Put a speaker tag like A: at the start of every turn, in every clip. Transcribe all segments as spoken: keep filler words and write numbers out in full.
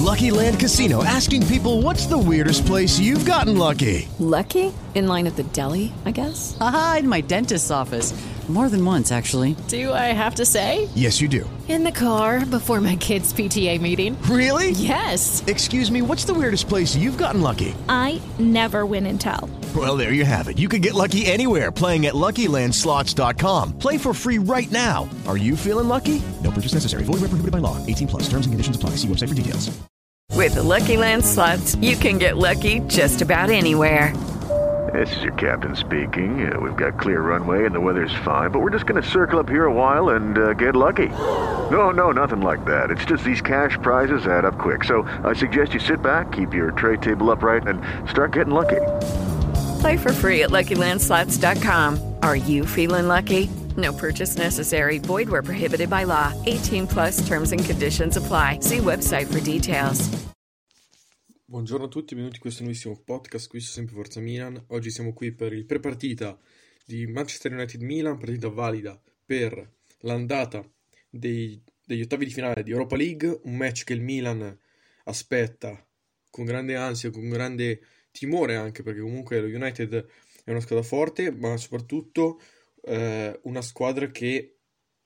A: Lucky Land Casino, asking people, what's the weirdest place you've gotten lucky?
B: Lucky? In line at the deli, I guess?
C: Aha, in my dentist's office. More than once, actually.
B: Do I have to say?
A: Yes, you do.
B: In the car before my kids' P T A meeting.
A: Really?
B: Yes.
A: Excuse me, what's the weirdest place you've gotten lucky?
D: I never win and tell.
A: Well, there you have it. You can get lucky anywhere, playing at Lucky Land Slots dot com. Play for free right now. Are you feeling lucky? No purchase necessary. Void where prohibited by law. eighteen plus. Terms and conditions apply. See website for details.
E: With the Lucky Land Slots, you can get lucky just about anywhere.
F: This is your captain speaking. Uh, we've got clear runway and the weather's fine, but we're just going to circle up here a while and uh, get lucky. No, no, nothing like that. It's just these cash prizes add up quick. So I suggest you sit back, keep your tray table upright, and start getting lucky.
E: Play for free at Lucky Land Slots dot com. Are you feeling lucky? No purchase necessary. Void where prohibited by law. eighteen plus terms and conditions apply. See website for details.
G: Buongiorno a tutti, benvenuti in questo nuovissimo podcast. Qui su Sempre Forza Milan. Oggi siamo qui per il pre-partita di Manchester United-Milan, partita valida per l'andata dei, degli ottavi di finale di Europa League, un match che il Milan aspetta con grande ansia, con grande timore anche, perché comunque lo United è una squadra forte, ma soprattutto eh, una squadra che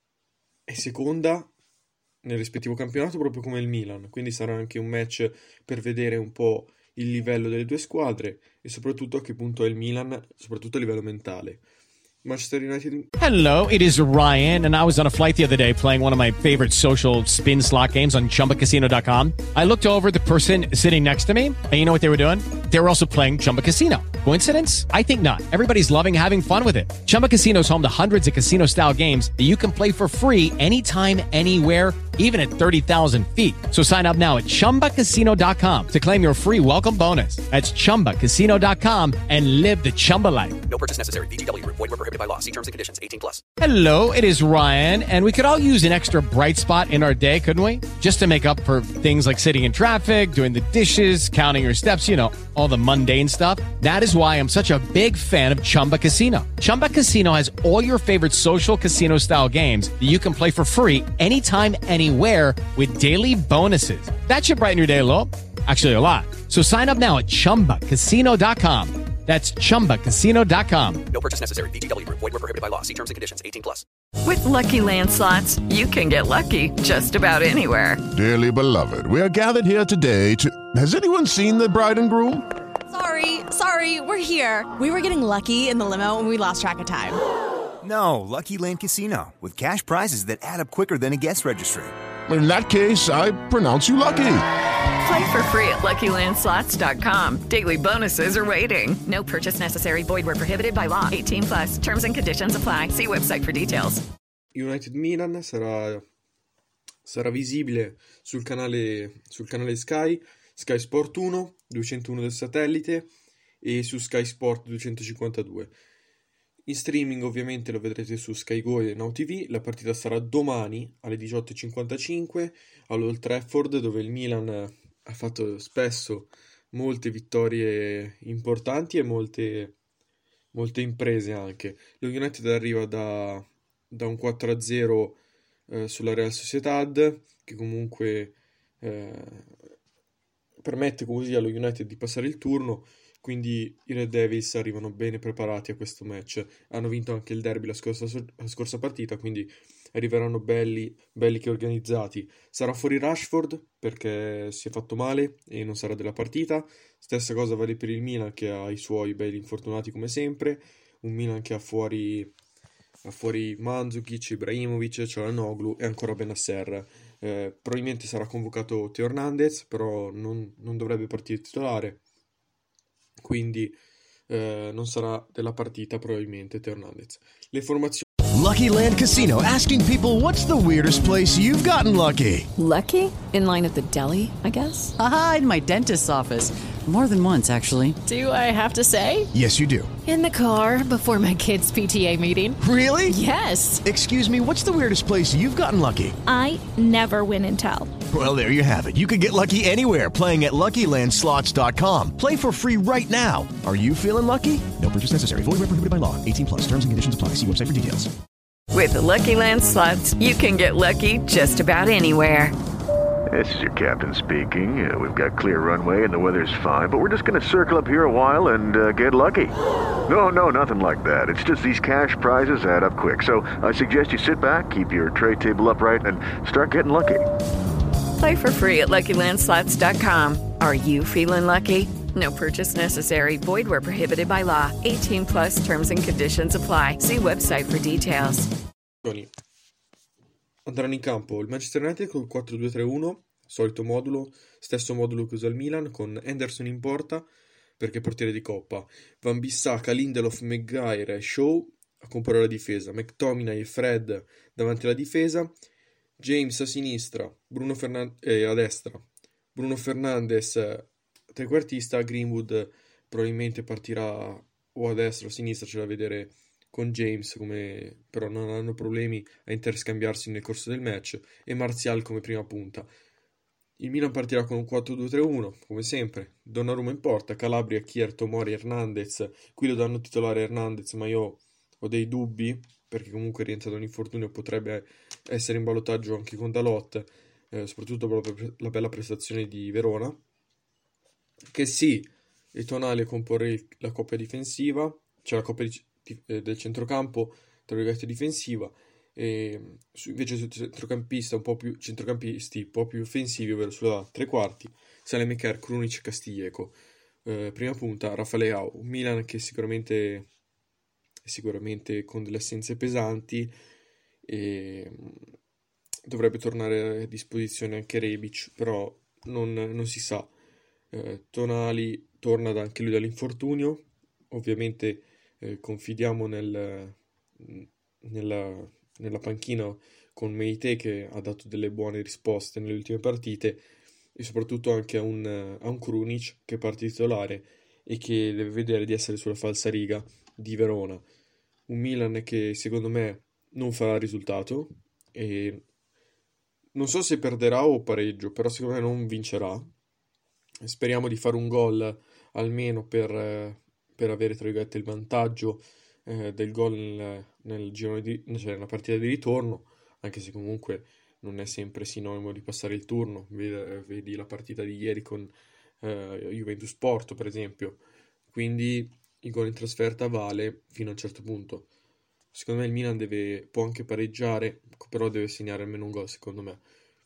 G: è seconda nel rispettivo campionato proprio come il Milan, quindi sarà anche un match per vedere un po' il livello delle due squadre e soprattutto a che punto è il Milan, soprattutto a livello mentale. Manchester United.
H: Hello, it is Ryan, and I was on a flight the other day playing one of my favorite social spin slot games on Chumba Casino dot com. I looked over at the person sitting next to me, and you know what they were doing? They were also playing Chumba Casino. Coincidence? I think not. Everybody's loving having fun with it. Chumba Casino is home to hundreds of casino-style games that you can play for free anytime, anywhere, even at thirty thousand feet. So sign up now at Chumba Casino dot com to claim your free welcome bonus. That's Chumba Casino dot com and live the Chumba life.
I: No purchase necessary. V G W. Void where prohibited by law. See terms and conditions. eighteen plus.
H: Hello, it is Ryan, and we could all use an extra bright spot in our day, couldn't we? Just to make up for things like sitting in traffic, doing the dishes, counting your steps, you know, all the mundane stuff. That is why I'm such a big fan of Chumba Casino. Chumba Casino has all your favorite social casino-style games that you can play for free anytime, anywhere with daily bonuses. That should brighten your day a little. Actually, a lot. So sign up now at Chumba Casino dot com. That's Chumba Casino dot com.
I: No purchase necessary. V G W. Void where prohibited by law. See terms and conditions. eighteen plus.
E: With Lucky Land Slots, you can get lucky just about anywhere.
J: Dearly beloved, we are gathered here today to... Has anyone seen the bride and groom?
K: Sorry, sorry, we're here. We were getting lucky in the limo and we lost track of time.
L: No, Lucky Land Casino, with cash prizes that add up quicker than a guest registry.
J: In that case, I pronounce you lucky.
E: Play for free at Lucky Land Slots dot com. Daily bonuses are waiting. No purchase necessary. Void where prohibited by law. eighteen plus. Terms and conditions apply. See website for details.
G: United Milan sarà, sarà visibile sul canale, sul canale Sky, Sky Sport uno, duecentouno del satellite e su Sky Sport duecentocinquantadue. In streaming ovviamente lo vedrete su Sky Go e Now T V. La partita sarà domani alle diciotto e cinquantacinque all'Old Trafford, dove il Milan ha fatto spesso molte vittorie importanti e molte, molte imprese anche. Lo United arriva da, da un quattro a zero eh, sulla Real Sociedad, che comunque eh, permette così allo United di passare il turno. Quindi i Red Devils arrivano bene preparati a questo match. Hanno vinto anche il derby la scorsa, la scorsa partita, quindi arriveranno belli, belli che organizzati. Sarà fuori Rashford perché si è fatto male e non sarà della partita. Stessa cosa vale per il Milan, che ha i suoi belli infortunati come sempre. Un Milan che ha fuori, ha fuori Mandzukic, Ibrahimovic, Çalhanoğlu e ancora Bennacer. Eh, probabilmente sarà convocato Theo Hernandez, però non, non dovrebbe partire titolare. Quindi eh, non sarà della partita probabilmente Theo Hernandez. Le formazioni.
A: Lucky Land Casino, asking people, what's the weirdest place you've gotten lucky?
B: Lucky? In line at the deli, I guess?
C: Aha, in my dentist's office. More than once, actually.
B: Do I have to say?
A: Yes, you do.
B: In the car before my kids' P T A meeting.
A: Really?
B: Yes.
A: Excuse me, what's the weirdest place you've gotten lucky?
D: I never win and tell.
A: Well, there you have it. You can get lucky anywhere, playing at Lucky Land Slots dot com. Play for free right now. Are you feeling lucky? No purchase necessary. Void where prohibited by law. eighteen plus. Terms and conditions apply. See website for details.
E: With the Lucky Land Slots, you can get lucky just about anywhere.
F: This is your captain speaking. Uh, we've got clear runway and the weather's fine, but we're just going to circle up here a while and uh, get lucky. No, no, nothing like that. It's just these cash prizes add up quick. So I suggest you sit back, keep your tray table upright, and start getting lucky.
E: Play for free at Lucky Land Slots dot com. Are you feeling lucky? No purchase necessary. Void where prohibited by law. eighteen plus terms and conditions apply. See website for details.
G: Andranno in campo il Manchester United col quattro due tre uno, solito modulo, stesso modulo che usa il Milan, con Henderson in porta perché portiere di coppa, Van Bissaka, Lindelof, Maguire e Shaw a comporre la difesa, McTominay e Fred davanti alla difesa, James a sinistra, Bruno Fernand- eh, a destra, Bruno Fernandes trequartista, Greenwood probabilmente partirà o a destra o a sinistra, c'è da vedere con James, come però non hanno problemi a interscambiarsi nel corso del match, e Martial come prima punta. Il Milan partirà con un quattro due tre uno, come sempre, Donnarumma in porta, Calabria, Kier, Tomori, Hernandez. Qui lo danno titolare Hernandez, ma io ho dei dubbi, perché comunque rientra da un infortunio, potrebbe essere in ballottaggio anche con Dalot, eh, soprattutto per la bella prestazione di Verona. Che sì, e Tonali a comporre la coppia difensiva, cioè la coppia di, di, eh, del centrocampo, tra virgolette difensiva, e su, invece sul centrocampista un po' più centrocampisti un po' più offensivi, ovvero sulla tre quarti, Salemaker, Krunic e Castillejo. Eh, prima punta Rafael Leao, un Milan che sicuramente sicuramente con delle assenze pesanti, e dovrebbe tornare a disposizione anche Rebic, però non, non si sa. Eh, Tonali torna da, anche lui dall'infortunio, ovviamente eh, confidiamo nel, nella, nella panchina con Meite, che ha dato delle buone risposte nelle ultime partite, e soprattutto anche a un, a un Krunic che parte titolare e che deve vedere di essere sulla falsariga di Verona. Un Milan che secondo me non farà risultato, e non so se perderà o pareggio, però secondo me non vincerà. Speriamo di fare un gol almeno per, per avere, tra virgolette, il vantaggio eh, del gol nel, nel girone di, cioè nella partita di ritorno, anche se comunque non è sempre sinonimo di passare il turno. Vedi, vedi la partita di ieri con eh, Juventus Porto, per esempio. Quindi il gol in trasferta vale fino a un certo punto. Secondo me il Milan deve, può anche pareggiare, però deve segnare almeno un gol, secondo me.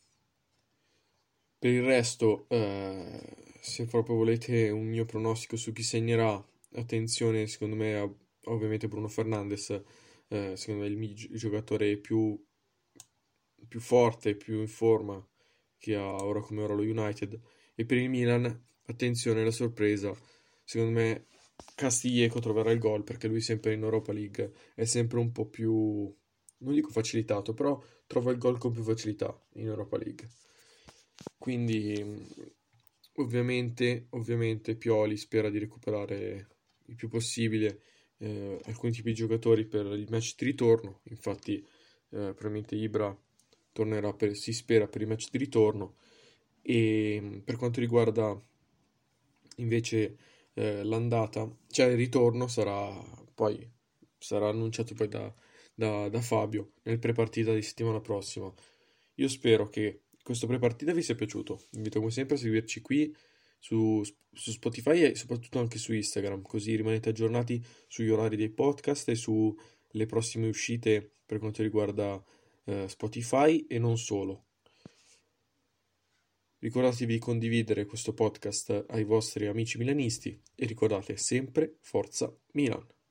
G: Per il resto, eh, se proprio volete un mio pronostico su chi segnerà, attenzione, secondo me, a, ovviamente Bruno Fernandes, eh, secondo me il, il giocatore più, più forte, più in forma che ha ora come ora lo United. E per il Milan, attenzione alla sorpresa, secondo me Castillejo troverà il gol, perché lui sempre in Europa League è sempre un po' più, non dico facilitato, però trova il gol con più facilità in Europa League. Quindi ovviamente, ovviamente Pioli spera di recuperare il più possibile eh, alcuni tipi di giocatori per il match di ritorno. Infatti eh, probabilmente Ibra tornerà per, si spera per il match di ritorno. E per quanto riguarda invece eh, l'andata, cioè il ritorno, sarà poi sarà annunciato poi da, da, da Fabio nel prepartita di settimana prossima. Io spero che questo prepartita vi sia piaciuto. Vi invito come sempre a seguirci qui su, su Spotify e soprattutto anche su Instagram, così rimanete aggiornati sugli orari dei podcast e sulle prossime uscite per quanto riguarda eh, Spotify e non solo. Ricordatevi di condividere questo podcast ai vostri amici milanisti e ricordate sempre Forza Milan.